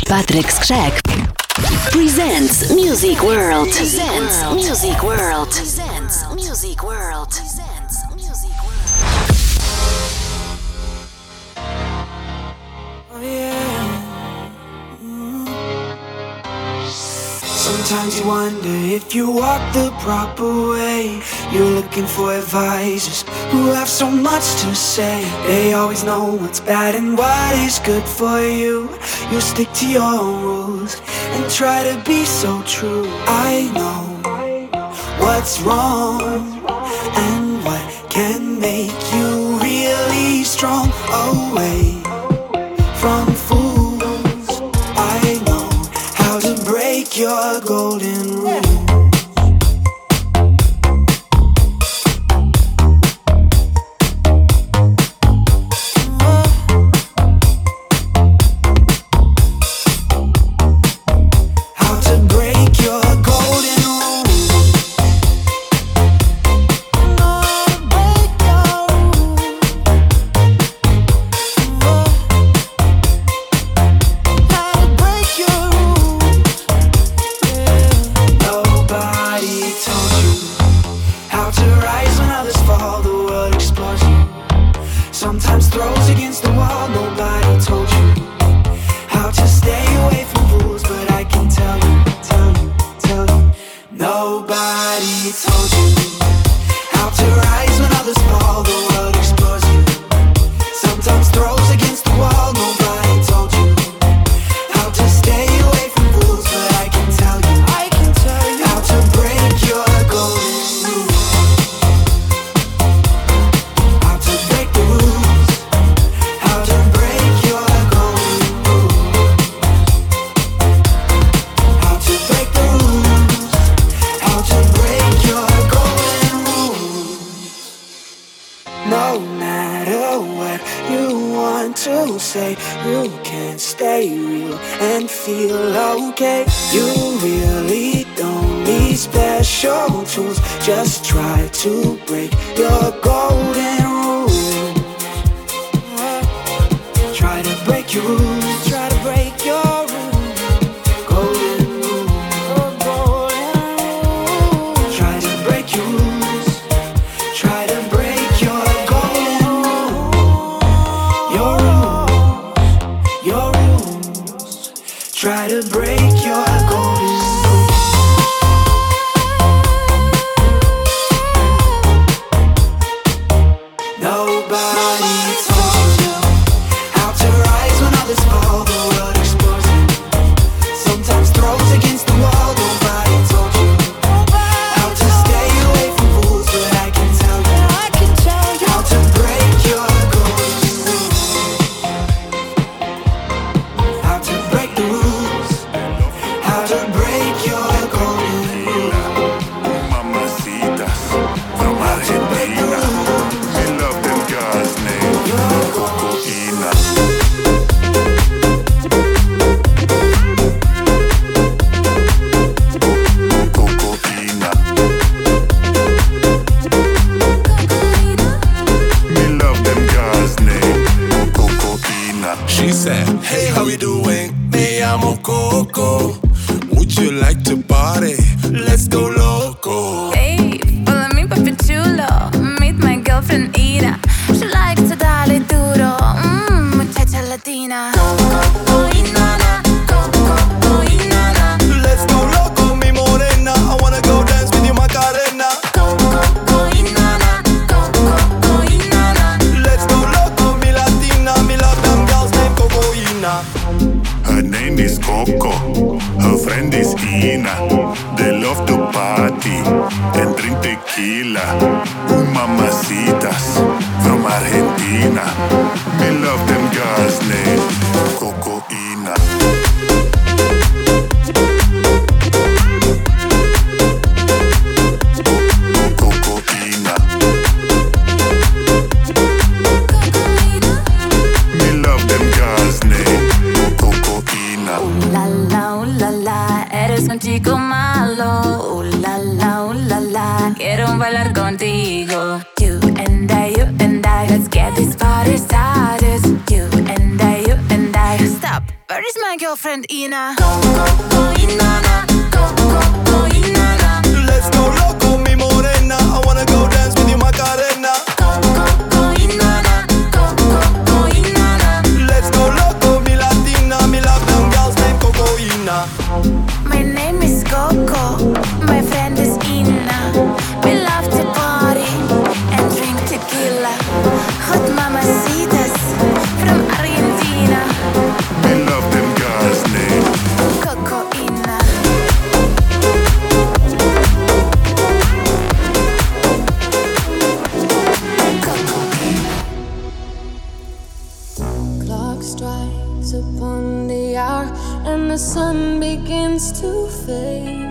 Patryk Skrzek presents Music World. Presents Music World. Presents Music World. Presents Music World. Oh yeah. Sometimes you wonder if you walk the proper way. You're looking for advisors who have so much to say. They always know what's bad and what is good for you. You stick to your rules and try to be so true. I know what's wrong and what can make you really strong. Away from fools, I know how to break your golden rule. Just try to break your golden rules. Try to break your rules. Try to break your rules. Golden rules. Try to break your rules. Try to break your golden rules. Your rules. Your rules. Try to break your golden rules. Where is my my girlfriend Ina. Go, Inanna. Go, Inanna. Let's go loco, mi morena. I wanna go dance with you, Macarena. Go, Inanna. Go, Inanna. Let's go loco, mi latina. Me love them girls named Cocoina. My name is Coco, my friend is Ina. We love to party and drink tequila. Hot mamacitas from Argentina. We love them guys named Coco Ina. Clock strikes upon the hour and the sun begins to fade.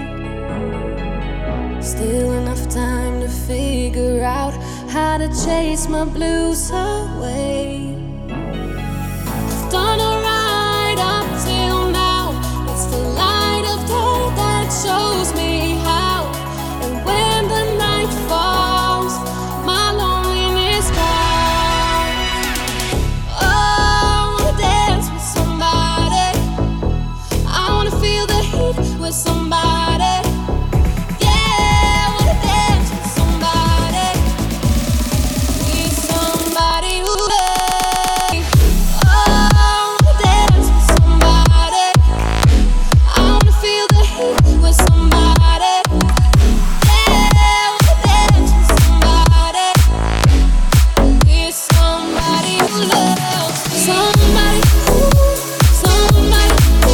Still enough time to figure out how to chase my blues away. I've done alright up till now. It's the light of day that shows me how. And when the night falls, my loneliness calls. Oh, I wanna dance with somebody. I wanna feel the heat with somebody. Yeah, I wanna dance with somebody. Need somebody who loves me. Oh, I wanna dance with somebody. I wanna feel the heat with somebody. Yeah, I wanna dance with somebody. Need somebody who loves me. Somebody who, somebody who.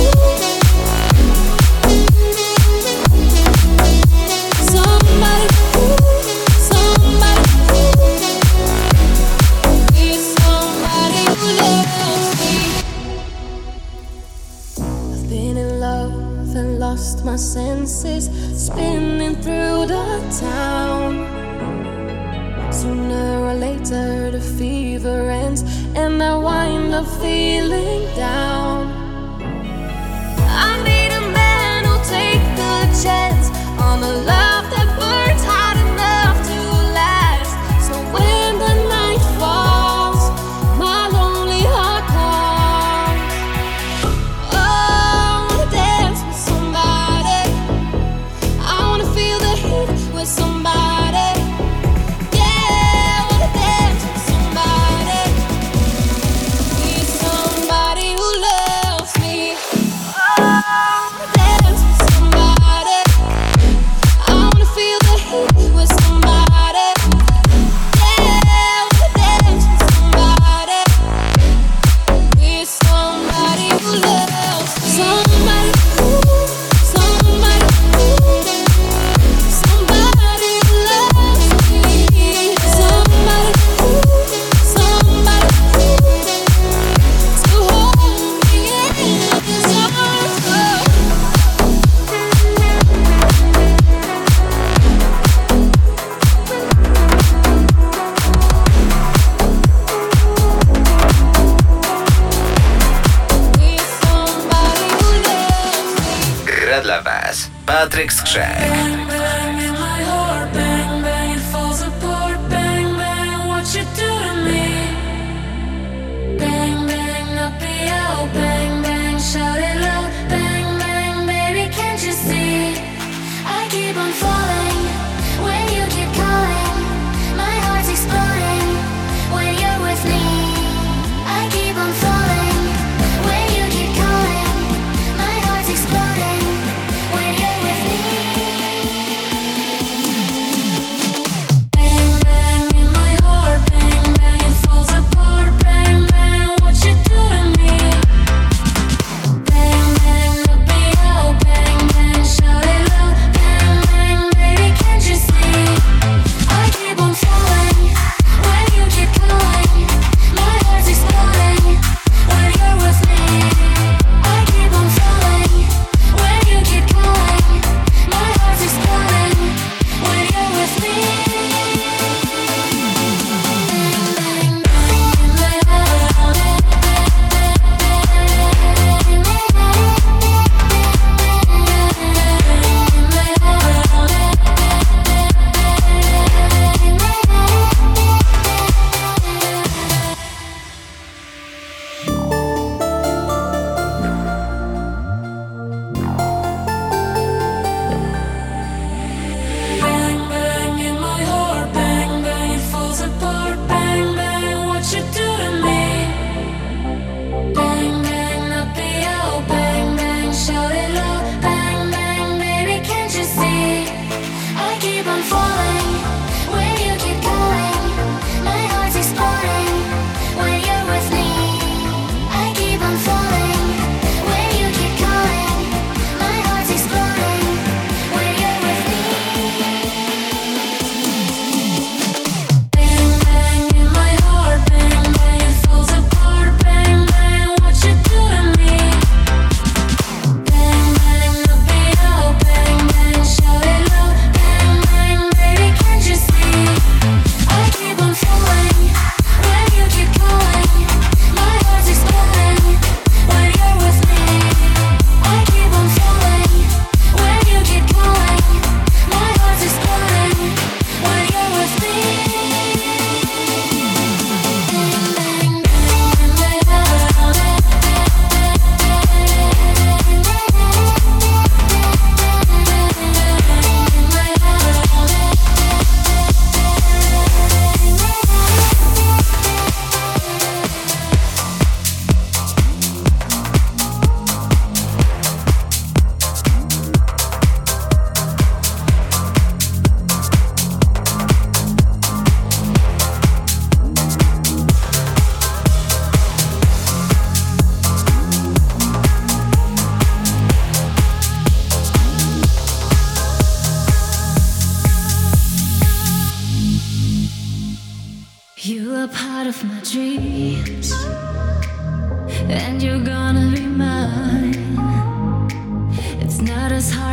Somebody who, somebody who. Need somebody who loves me. I've been in love and lost my senses, spinning through the town. Sooner or later the fever ends and I wind up feeling down. I need a man who'll take the chance on a love that burns hot enough to last. So when the night falls, my lonely heart calls. Oh, I wanna dance with somebody. I wanna feel the heat with somebody. Yeah, I wanna dance with somebody. Need somebody who loves me. Oh, I wanna dance with somebody. I wanna feel the heat with somebody. Yeah, I wanna dance with somebody. Need somebody who loves me. Somebody who, somebody who. Somebody who loves me. Somebody who, somebody who. To hold me in his arms. Need somebody who loves me. Gra dla Was Patryk Skrzek. Bang, bang, in my heart. Bang, bang, it falls apart. Bang, bang, what you do to me. Bang, bang, up the out. Bang, bang, shout it loud. Bang, bang, baby, can't you see? I keep on falling when you keep calling. My heart's exploding when you're with me. I keep on falling when you keep calling. My heart's exploding when you're with me.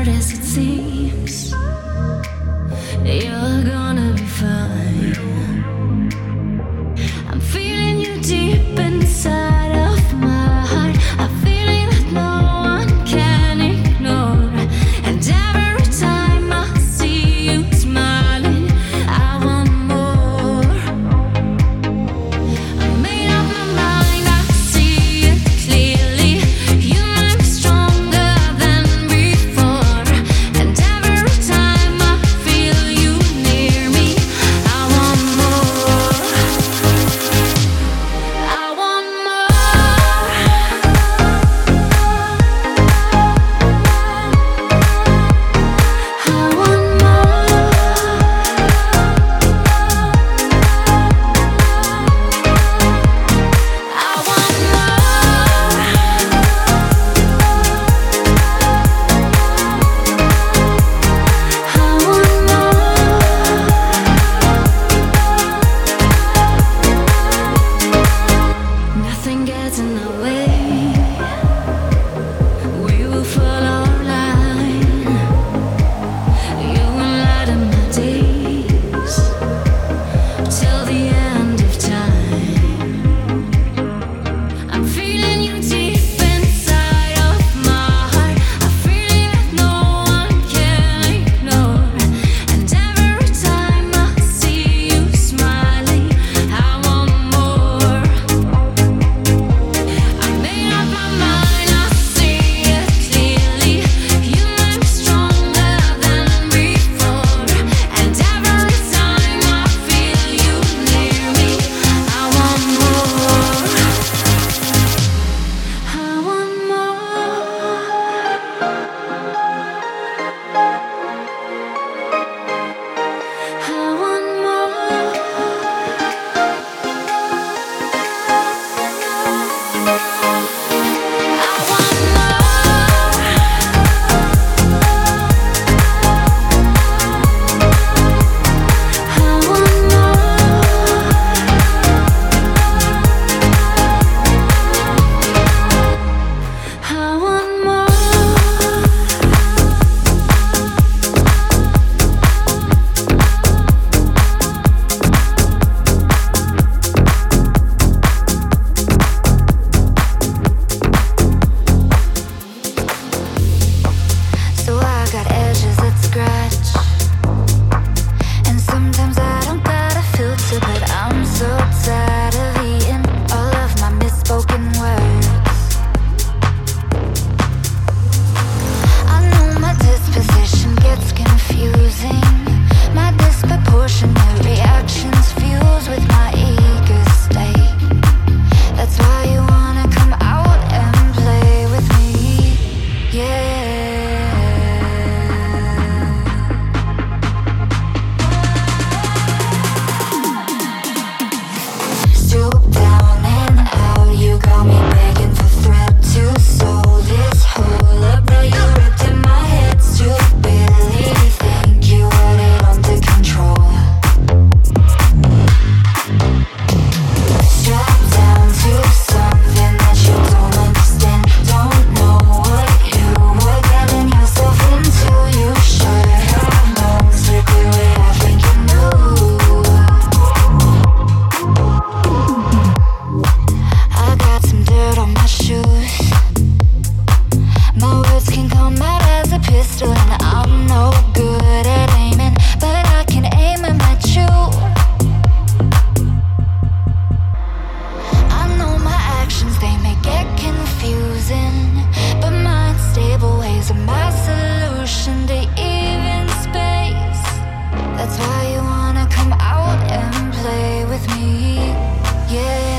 hard as it seems. You're gonna be fine. I'm feeling you deep inside of my heart. A feeling that no one can ignore. And every time I see you smiling, I want more. I made up my mind, I see it clearly. You make me stronger than before. And every time I feel you near me, I want more. I want more. I want more. I want more. Nothing gets in the way. We will follow our line. You will light up my days till the end of time. I'm feeling you deep inside of my heart. A feeling that no one can ignore. And every time I see you smiling, I want more. I made up my mind, I see it clearly. You make me stronger than before. And every time I feel you near me, I want more. I want more. I want more. I want So I got edges that scratch, and sometimes I don't got a filter, but I'm so tired of eating all of my misspoken words. I know my disposition gets confusing. My disproportionate reactions fuse with my eager state. That's why you wanna come out and play with me, yeah. Stoop down and out, you got me begging for threat to sow this hole up. Bro, you ripped in my head, stupidly. Think you had it under control. Strapped down to something that you don't understand. Don't know what you were getting yourself into. You should have known strictly what I think you knew. I got some dirt on my shoes. My words can come out as a pistol, and I'm no good at aiming, but I can aim and match you. I know my actions, they may get confusing, but my unstable ways are my solution to even space. That's why you wanna come out and play with me, yeah.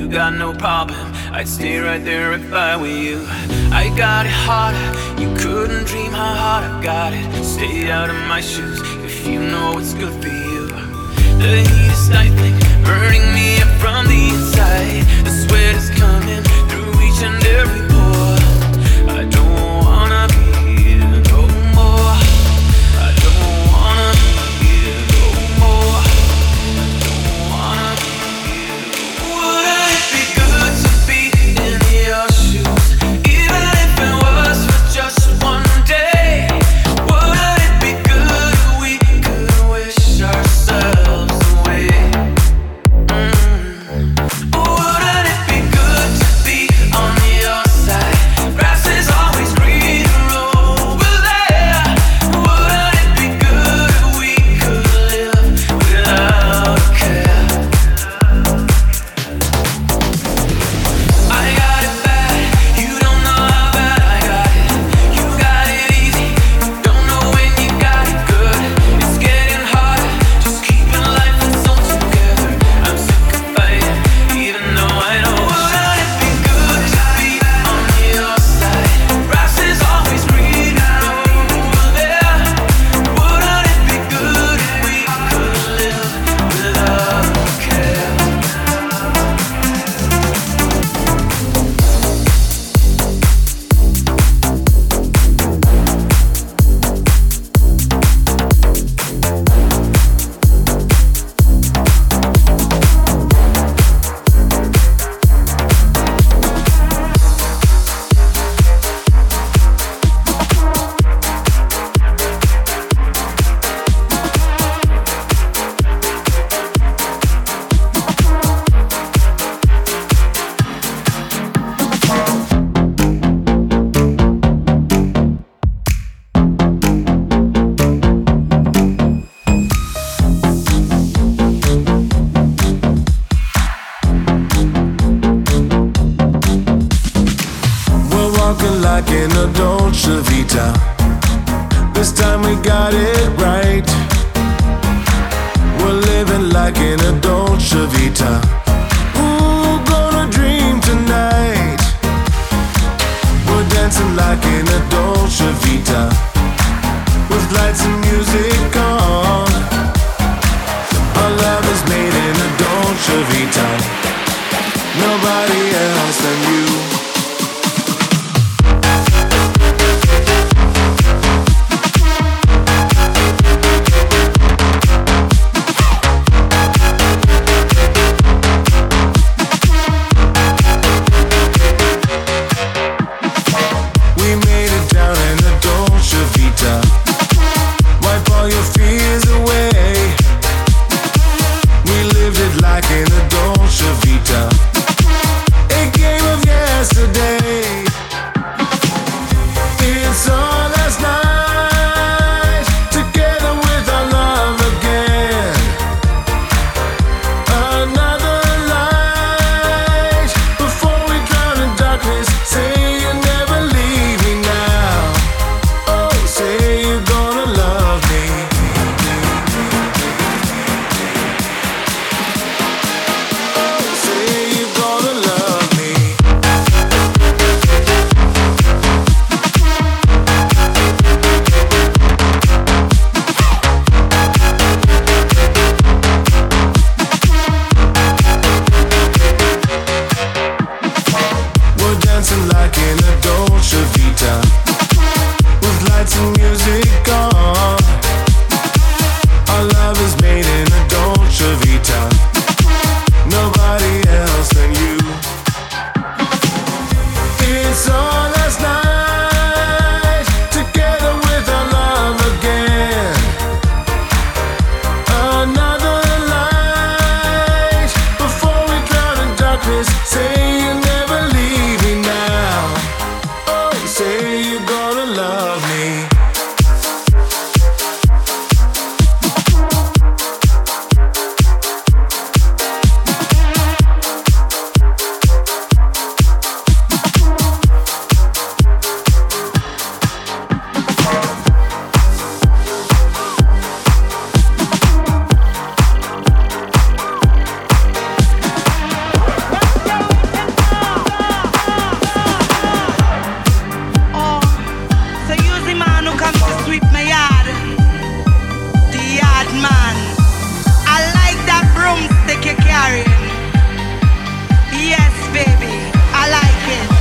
got no problem, I'd stay right there if I were you. I got it harder, you couldn't dream how hard I got it. Stay out of my shoes if you know what's good for you. The heat is stifling, burning me up from the inside. The sweat is coming through each and every pore. I don't wanna be here no more. I don't wanna be here no more. I don't wanna be here. Wouldn't it be good to be in your shoes, even if it was for just one day? Wouldn't it be good if we could wish ourselves away? Wouldn't it be good to be on your side? Grass is always greener over there. Wouldn't it be good if we could live without a care? I got it bad, you don't know how bad I got it. You got it easy, don't know when you got it good. It's getting harder, just keeping life and soul together. I'm sick of fighting, even though I know. Wouldn't it be good to be on your side? Grass is always greener over there. Wouldn't it be good if we could live without a care? We're walking like in a Dolce Vita. This time we got it right. We're living like in a Dolce Vita. Ooh, gonna dream tonight. We're dancing like in a Dolce Vita, with lights and music on. Our love is made in a Dolce Vita. Nobody else than you. We made it down comes to sweep my yard, the yard man. I like that broomstick you're carrying. Yes, baby, I like it.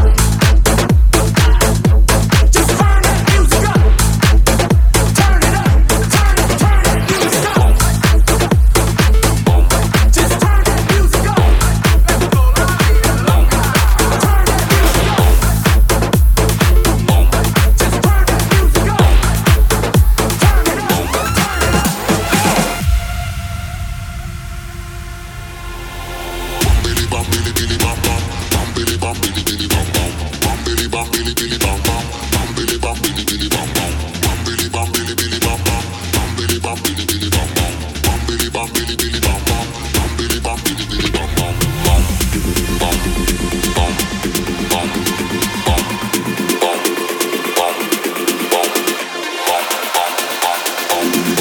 Turn it up.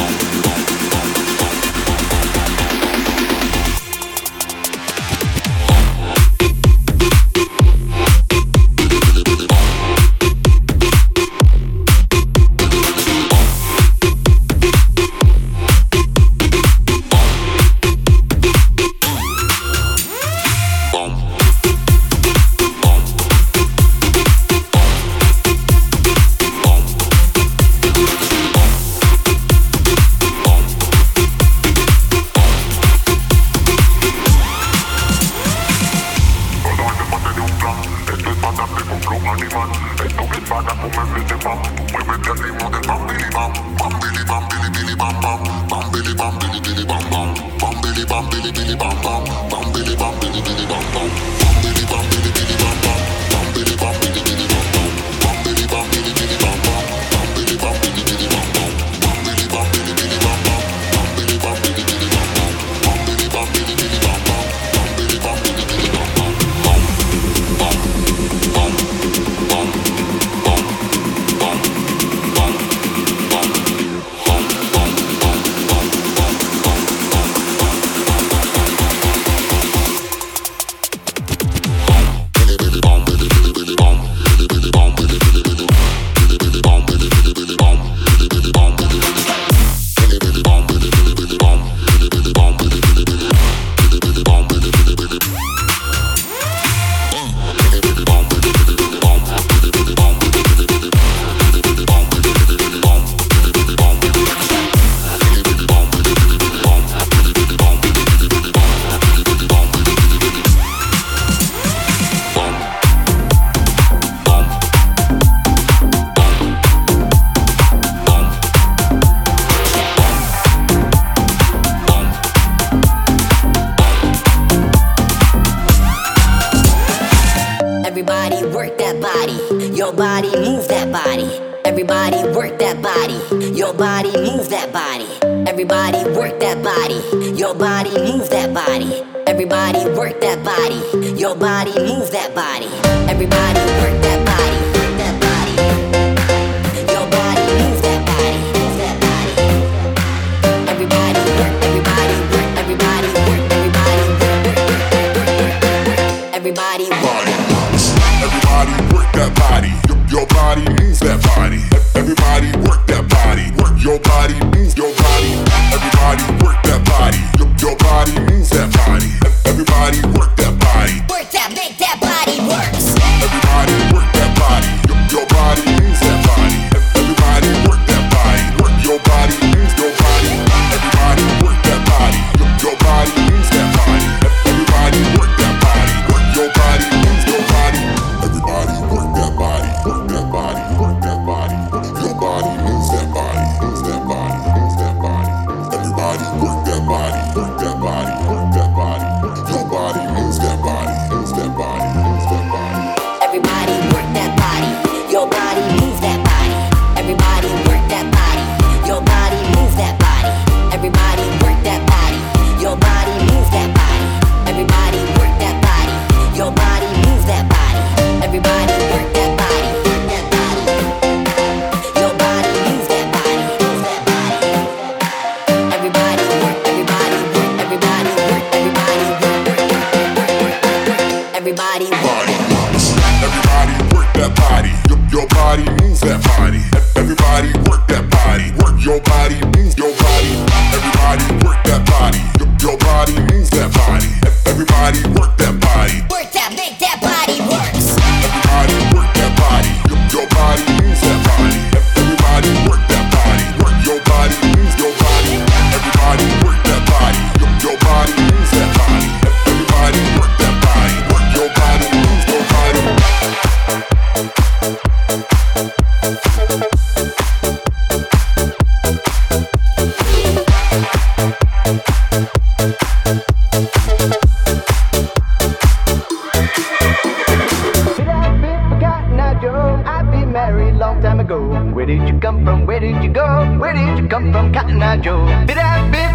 Where did you come from? Where did you go? Where did you come from, Cotton Eye Joe? Did I be forgotten?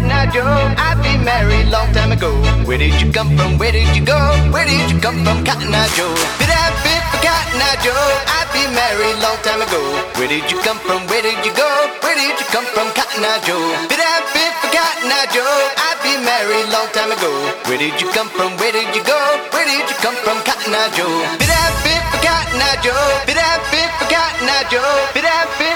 Cotton Eye Joe. I've been married long time ago. Where did you come from? Where did you go? Where did you come from, Cotton Eye Joe? Bit for Cotton Eye Joe. I've been married long time ago. Where did you come from? Where did you go? Where did you come from, Cotton Eye Joe? Bit for Cotton Eye Joe. I've been married long time ago. Where did you come from? Where did you go? Where did you come from, Cotton Eye Joe? Bit for Cotton Eye Joe. Bit for Cotton Eye Joe. Bit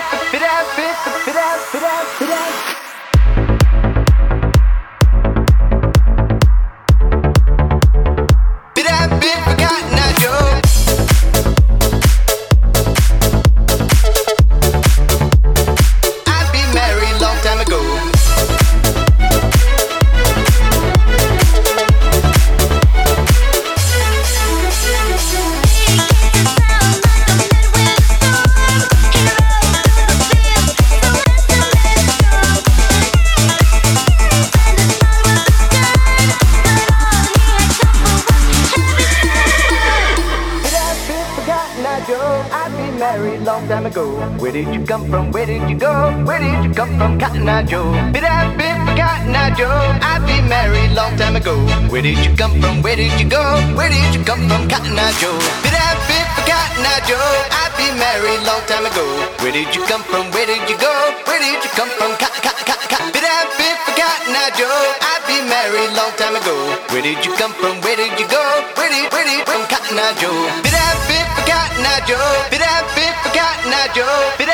Where did you come from? Where did you go? Where did you come from, Cotton Eye Joe? Bit for Cotton Eye Joe. I've been married long time ago. Where did you come from? Where did you go? Where did you come from, Cotton Eye Joe? Bit for Cotton Eye Joe. I've been married long time ago. Where did you come from? Where did you go? Where did you come from, Bit for Cotton Eye Joe. I've been married long time ago. Where did you come from? Where did you go? Where did from Cotton Eye Joe? Bit for Cotton Eye Joe. Bit for Cotton Eye Joe. Bit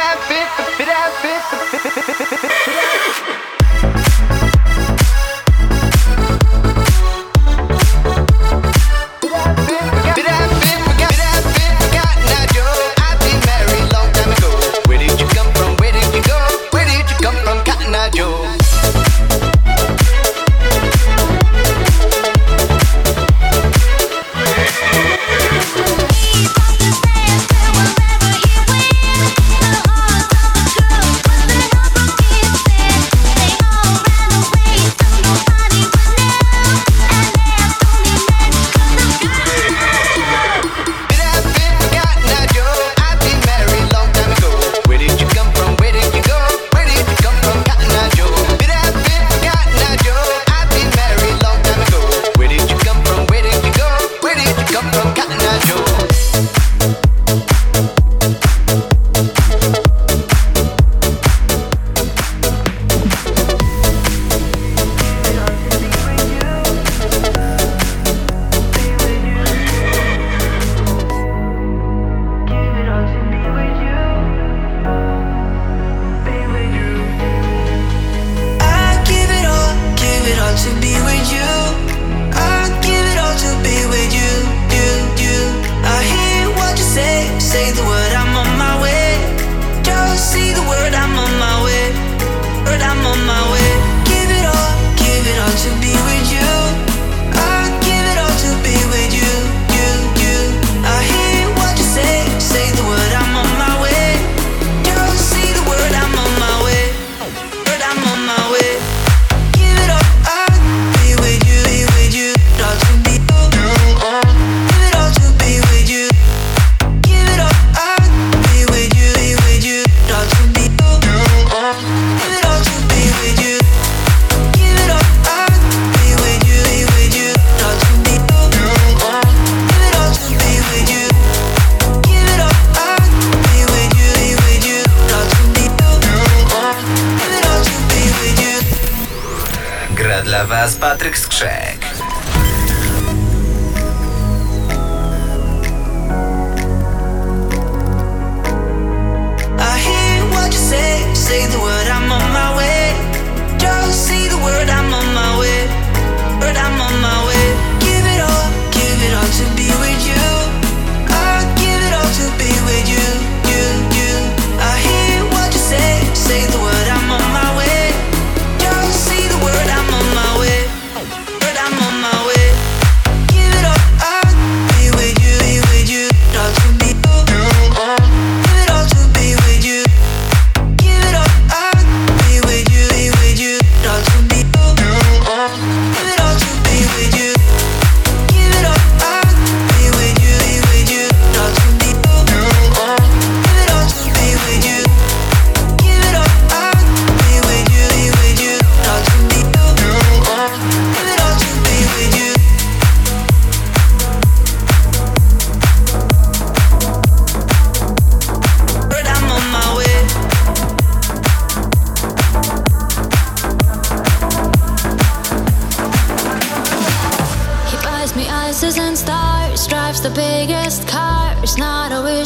dla was Patryk Skrzek. Say the word, I'm on my way. Just say the word, I'm on my way. Word, I'm on my way. Give it all to be with you. I'll give it all to be with you, you. I hear what you say the word, I'm on my way. Just say the word, I'm on my way. Word, I'm on my way.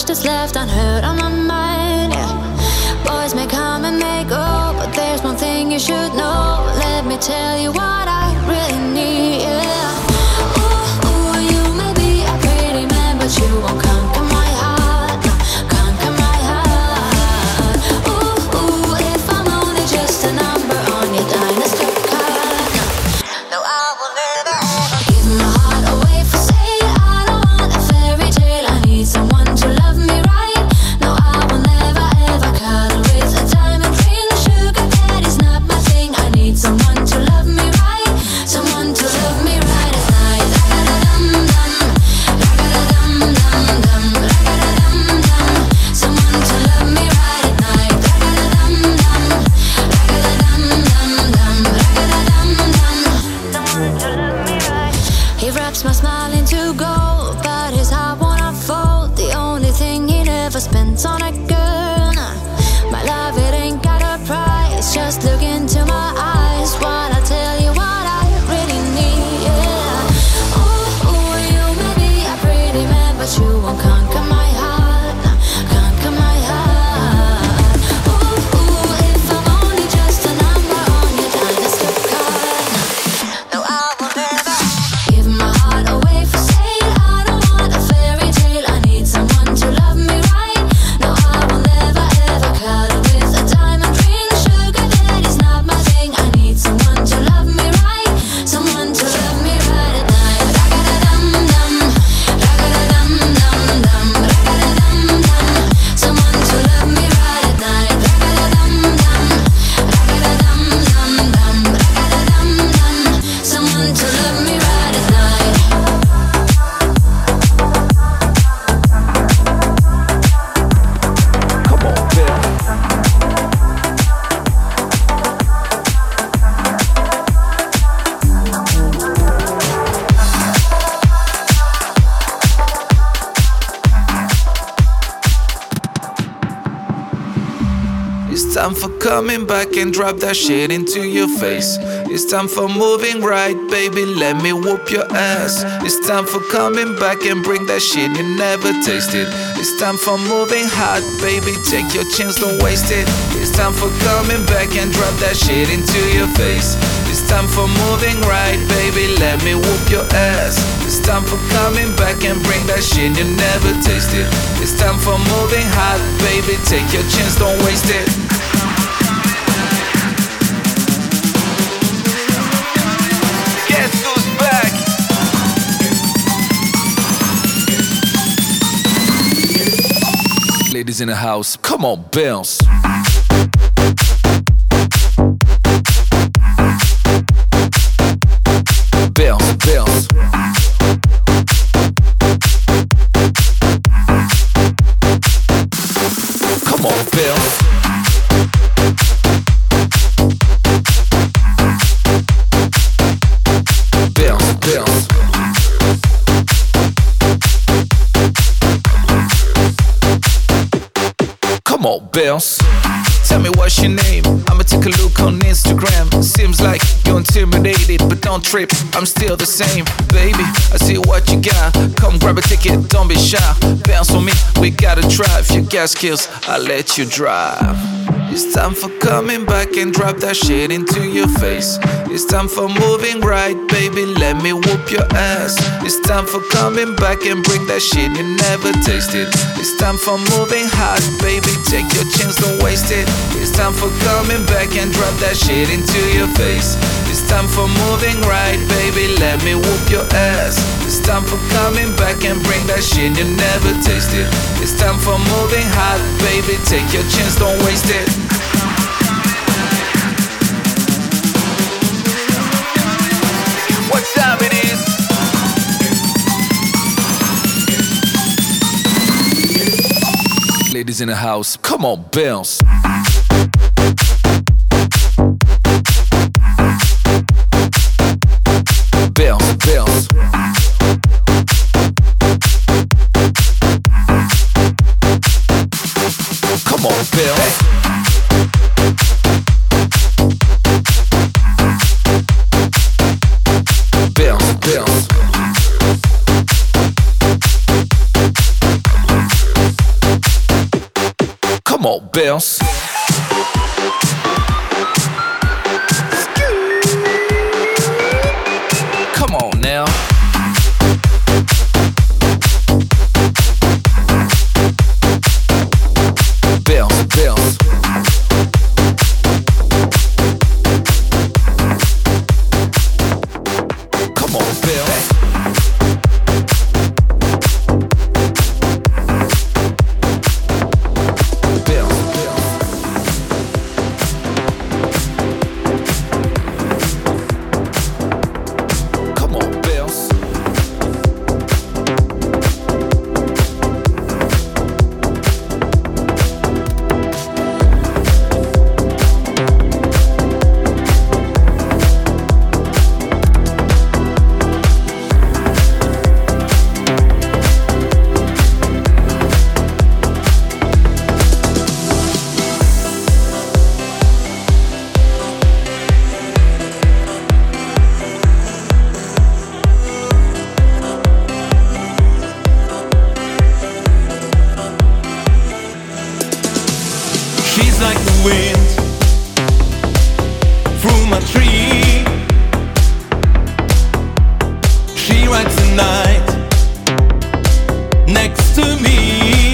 that's left unheard on my mind, yeah. Boys may come and may go, but there's one thing you should know. Let me tell you what I really need, yeah. Ooh, you may be a pretty man, but you won't conquer my heart, conquer my heart. Ooh, if I'm only just a number on your dynasty card, no, I will never ever give my heart away for sale. I don't want a fairy tale, I need someone to love me right. No, I will never ever cuddle with a diamond ring. Sugar daddy's not my thing, I need someone to love me right, someone to love me right at night. Ra-ga-da-dum-dum, ra-ga-da-dum-dum-dum, ra-ga-da-dum-dum, someone to love me right at night. Ra-ga-da-dum-dum, ra-ga-da-dum-dum-dum, ra-ga-da-dum-dum, someone to love me right. He wraps my smile into gold, but his heart won't unfold. The only thing he never spends on a girl, nah. My love, it ain't got a price. Just look into my eyes while I tell you what I really need, yeah. Ooh, you may be a pretty man, but you won't conquer my heart, nah. Conquer my heart. Ooh, if I'm only just a number on your dynasty card, no, I will never give my heart away for sale. I don't want a fairy tale, I need someone to love me right. No, I will never ever cuddle with a diamond ring. Sugar daddy's not my thing, I need someone to love me right, someone to love me right at night. Ra-ga-da-dum-dum, ra-ga-da-dum-dum-dum, ra-ga-da-dum-dum, someone to love me right at night. Ra-ga-da-dum-dum, ra-ga-da-dum-dum-dum, ra-ga-da-dum-dum, someone to love me right at night. Come on, Bill. It's time for coming back and drop that shit into your face. It's time for moving right, baby, let me whoop your ass. It's time for coming back and bring that shit you never tasted. It's time for moving hot, baby, take your chance, don't waste it. It's time for coming back and drop that shit into your face. It's time for moving right, baby, let me whoop your ass. It's time for coming back and bring that shit you never tasted. It's time for moving hot, baby, take your chance, don't waste it. Guess who's back? Ladies in the house, come on, bounce. Bounce, bounce. Come on, bounce. Bounce, bounce. Come on, bounce. Tell me what's your name, I'ma take a look on Instagram. Seems like you're intimidated, but don't trip, I'm still the same. Baby, I see what you got, come grab a ticket, don't be shy. Bounce on me, we gotta try. If you got skills, I'll let you drive. It's time for coming back and drop that shit into your face. It's time for moving right, baby, let me whoop your ass. It's time for coming back and bring that shit you never tasted. It's time for moving hot, baby, take your chance, don't waste it. It's time for coming back and drop that shit into your face. It's time for moving right, baby, let me whoop your ass. It's time for coming back and bring that shit you never tasted. It's time for moving hot, baby, take your chance, don't waste it. What time it is? Ladies in the house, come on, bounce. Bounce, bounce. Come on, bounce. Bounce, bounce. Bills. Come on now. Bills, Bills. Come on, Bills. She's like the wind through my tree. She rides the night next to me.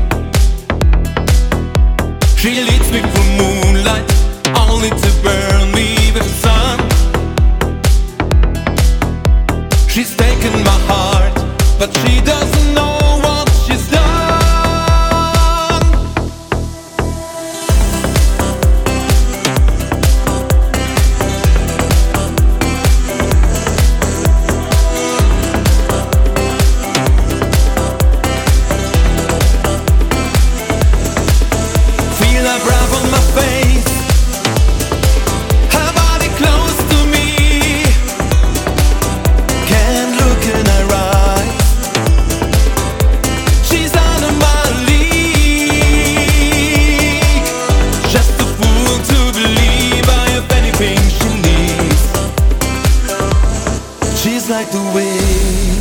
She leads me through moonlight, only to burn me with the sun. She's taken my heart, but she doesn't know what she's done. Her breath on my face, her body close to me. Can't look in her eyes, she's out of my league. Just a fool to believe I have anything she needs. She's like the wind